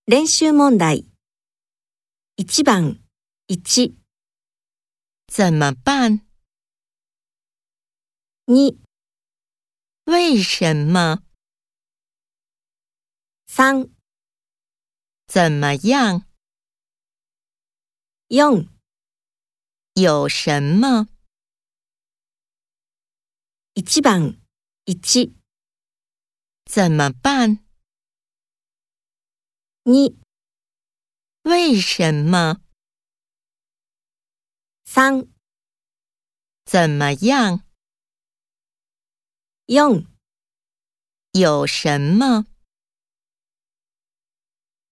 練習問題。1番1、 怎么办？ 2、 为什么？ 3、 怎么样？ 4、 有什么？ 1番1、 怎么办？ 2、 为什么？ 3、 怎么样？ 4 有什么？